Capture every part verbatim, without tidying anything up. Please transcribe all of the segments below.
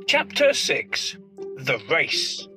Chapter six. The Race.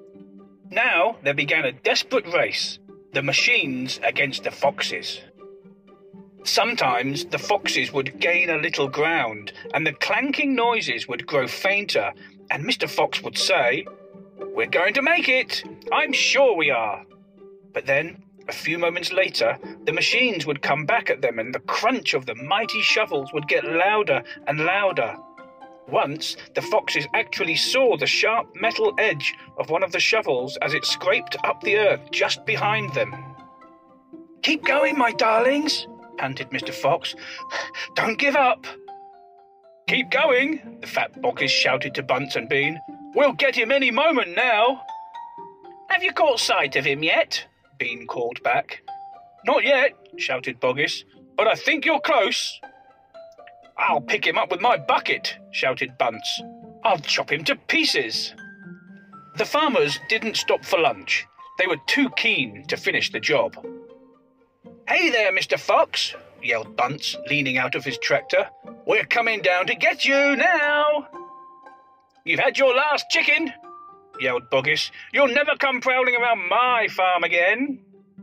Now there began a desperate race, the machines against the foxes. Sometimes the foxes would gain a little ground, and the clanking noises would grow fainter, and Mister Fox would say, "We're going to make it! I'm sure we are!" But then, a few moments later, the machines would come back at them, and the crunch of the mighty shovels would get louder and louder. Once, the foxes actually saw the sharp metal edge of one of the shovels as it scraped up the earth just behind them. "Keep going, my darlings," panted Mister Fox. "Don't give up." "Keep going," the fat boggis shouted to Bunce and Bean. "We'll get him any moment now." "Have you caught sight of him yet?" Bean called back. "Not yet," shouted Boggis, "but I think you're close." "I'll pick him up with my bucket," shouted Bunce. "I'll chop him to pieces." The farmers didn't stop for lunch. They were too keen to finish the job. "Hey there, Mister Fox," yelled Bunce, leaning out of his tractor. "We're coming down to get you now." "You've had your last chicken," yelled Boggis. "You'll never come prowling around my farm again."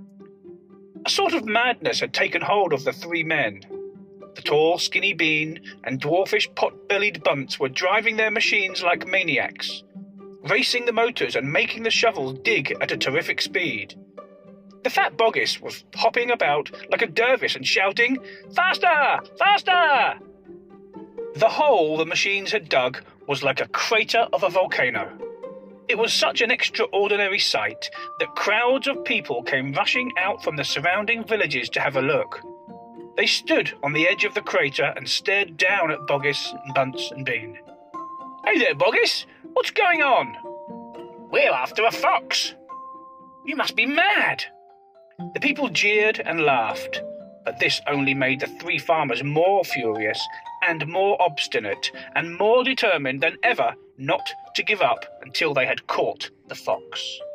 A sort of madness had taken hold of the three men. The tall, skinny Bean and dwarfish, pot-bellied Bunce were driving their machines like maniacs, racing the motors and making the shovels dig at a terrific speed. The fat Boggis was hopping about like a dervish and shouting, "Faster! Faster!" The hole the machines had dug was like a crater of a volcano. It was such an extraordinary sight that crowds of people came rushing out from the surrounding villages to have a look. They stood on the edge of the crater and stared down at Boggis, Bunce and Bean. "Hey there, Boggis! What's going on?" "We're after a fox." "You must be mad." The people jeered and laughed, but this only made the three farmers more furious and more obstinate and more determined than ever not to give up until they had caught the fox.